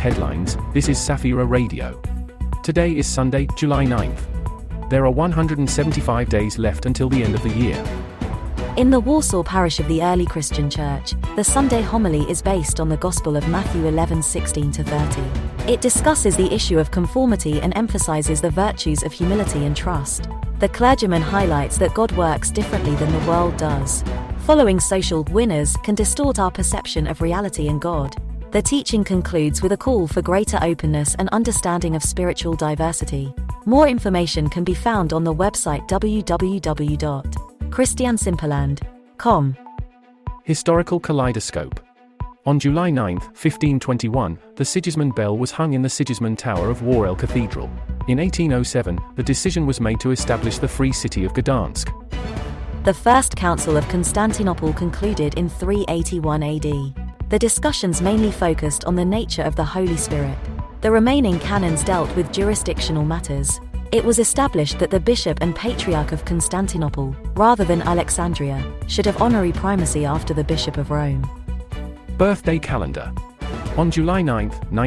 headlines. This is Safira Radio. Today is Sunday, July 9th. There are 175 days left until the end of the year. In the Warsaw parish of the early Christian church, the Sunday homily is based on the Gospel of Matthew 11:16-30. It discusses the issue of conformity and emphasizes the virtues of humility and trust. The clergyman highlights that God works differently than the world does. Following social winners can distort our perception of reality and God. The teaching concludes with a call for greater openness and understanding of spiritual diversity. More information can be found on the website www.christiansimperland.com. Historical Kaleidoscope. On July 9, 1521, the Sigismund bell was hung in the Sigismund Tower of Worel Cathedral. In 1807, the decision was made to establish the Free City of Gdansk. The First Council of Constantinople concluded in 381 AD. The discussions mainly focused on the nature of the Holy Spirit. The remaining canons dealt with jurisdictional matters. It was established that the Bishop and Patriarch of Constantinople, rather than Alexandria, should have honorary primacy after the Bishop of Rome. Birthday calendar. On July 9,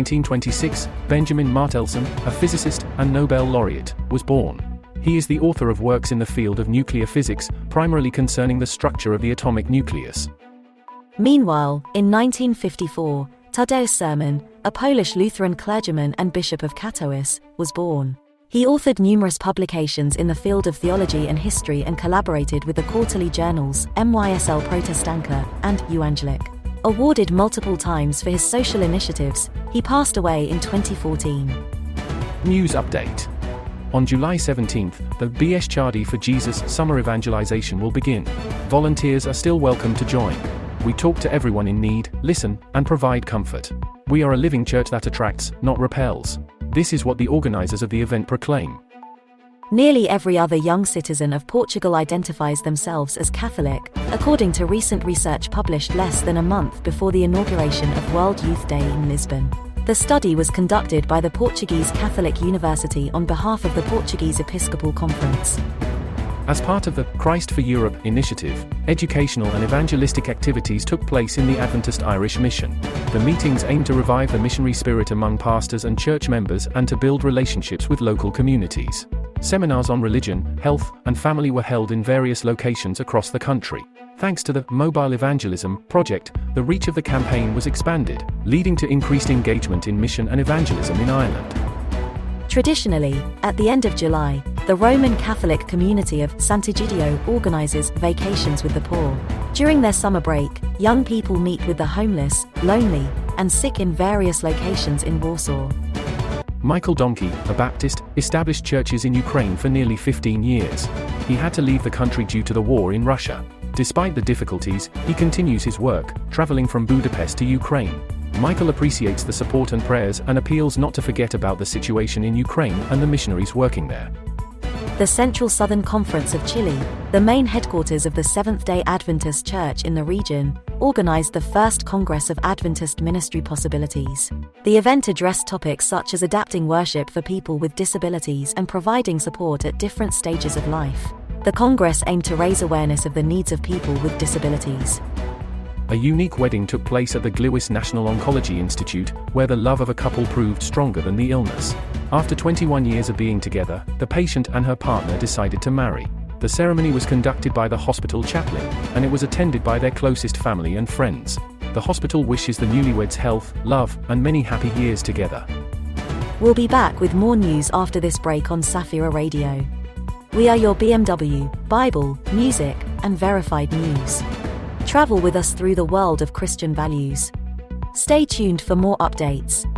1926, Benjamin Martelson, a physicist and Nobel laureate, was born. He is the author of works in the field of nuclear physics, primarily concerning the structure of the atomic nucleus. Meanwhile, in 1954, Tadeusz Sermon, a Polish Lutheran clergyman and Bishop of Katowice, was born. He authored numerous publications in the field of theology and history and collaborated with the quarterly journals MYSL Protestanka and Ewangelic. Awarded multiple times for his social initiatives, he passed away in 2014. News update. On July 17th, the Bieszczady for Jesus summer evangelization will begin. Volunteers are still welcome to join. We talk to everyone in need, listen, and provide comfort. We are a living church that attracts, not repels. This is what the organizers of the event proclaim. Nearly every other young citizen of Portugal identifies themselves as Catholic, according to recent research published less than a month before the inauguration of World Youth Day in Lisbon. The study was conducted by the Portuguese Catholic University on behalf of the Portuguese Episcopal Conference. As part of the Christ for Europe initiative, educational and evangelistic activities took place in the Adventist Irish Mission. The meetings aimed to revive the missionary spirit among pastors and church members and to build relationships with local communities. Seminars on religion, health, and family were held in various locations across the country. Thanks to the Mobile Evangelism project, the reach of the campaign was expanded, leading to increased engagement in mission and evangelism in Ireland. Traditionally, at the end of July, the Roman Catholic community of Sant'Egidio organizes vacations with the poor. During their summer break, young people meet with the homeless, lonely, and sick in various locations in Warsaw. Michael Domke, a Baptist, established churches in Ukraine for nearly 15 years. He had to leave the country due to the war in Russia. Despite the difficulties, he continues his work, traveling from Budapest to Ukraine. Michael appreciates the support and prayers and appeals not to forget about the situation in Ukraine and the missionaries working there. The Central Southern Conference of Chile, the main headquarters of the Seventh-day Adventist Church in the region, organized the first Congress of Adventist Ministry Possibilities. The event addressed topics such as adapting worship for people with disabilities and providing support at different stages of life. The Congress aimed to raise awareness of the needs of people with disabilities. A unique wedding took place at the Gliwice National Oncology Institute, where the love of a couple proved stronger than the illness. After 21 years of being together, the patient and her partner decided to marry. The ceremony was conducted by the hospital chaplain, and it was attended by their closest family and friends. The hospital wishes the newlyweds health, love, and many happy years together. We'll be back with more news after this break on Safira Radio. We are your BMW, Bible, music, and verified news. Travel with us through the world of Christian values. Stay tuned for more updates.